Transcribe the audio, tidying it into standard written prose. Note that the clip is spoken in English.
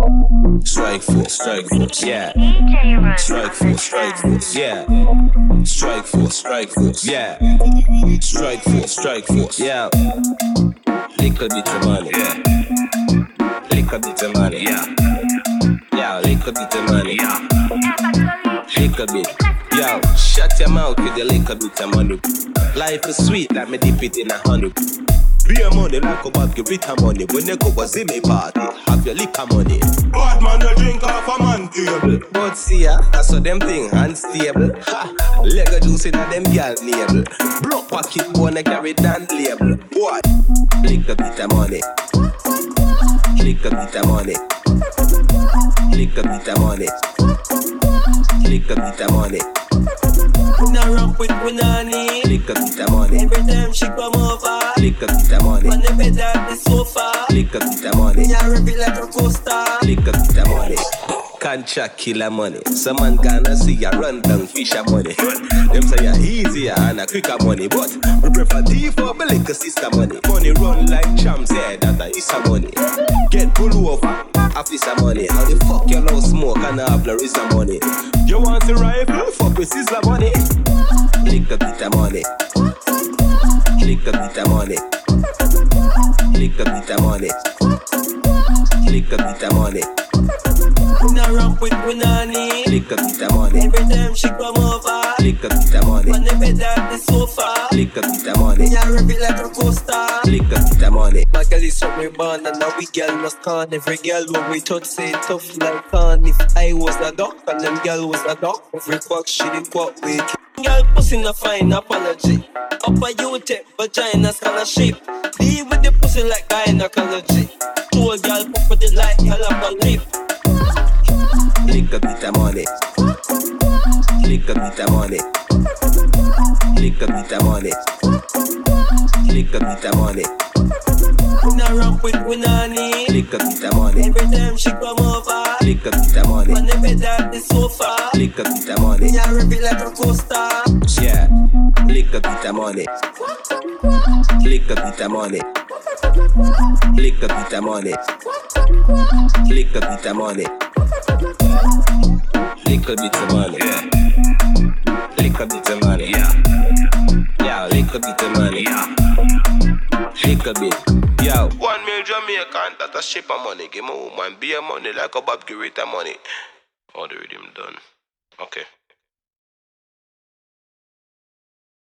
Strike force, yeah. Strike force, yeah. Strike force, yeah. Strike force, yeah. Little bit of money, yeah. Little bit of money, yeah. Yeah, little bit of money, yeah. Little bit, yo. Shut your mouth with your little bit of money. Life is sweet, like me dip it in a honey. Beer money like a bag, give it a money. When you go a Zimmy party, have your liquor money. Bad man, you drink off a man table. But see ya, I saw them thing unstable. Ha, Lego juice in a them girl label. Broke pocket bone, carry down label. What? Lick a bit of money. Lick a bit of money. Lick a bit of money. Lick a bit of money. Now ramp with Punani. Lick a bit of money. Every time she come over, Lick a bit of money. on the bed at the sofa, Lick a bit of money. me a rip it like a coaster. Lick a bit of money. Contract killer money. Some man gonna see ya run down fisher money. Them say ya easier and a quicker money, but we prefer D4 but lick a sister money. Money run like champs, yeah, that is a money. Get pull over, half is a money. How the fuck you love smoke and have the is a money? You want the rifle? Fuck with sizzler money. Lick a bit of money. Lick a bit of money. Lick a bit of money. Lick a bit of money. Now ramp with Punani. Lick a bit of money. Every time she come over, Lick a bit of money. on the bed at the sofa, Lick a bit of money. me a rip it like a coaster. Lick a bit of money. My girl is from me born and now we girl must con. Every girl when we touch say tough like con. If I was a duck and them girl was a duck, every quack she did quack with. Girl pussy no fine apology. Upper you take vagina scholarship. Deal with the pussy like gynecology. Two girl pop with it like hell up a lip. Lick a bit of money. Lick a bit of money. Lick a bit of money. Lick a bit of money. Now ramp with Punani. Lick a bit of money. Every time she come over, Lick a bit of money. on the bed at the sofa, Lick a bit of money. me a rip it like a coaster. Yeah. Lick a bit of money. Lick a bit of money. Lick a bit of money. Lick a bit of money. Lick a bit of money. Yeah. Lick a bit of money. Yeah. Yeah, lick a bit of money. Yeah. Lick a bit. Yo. 1 million Jamaican, that a ship of money. Give me woman, be a money like a Bob Girita money. All the rhythm done. Okay.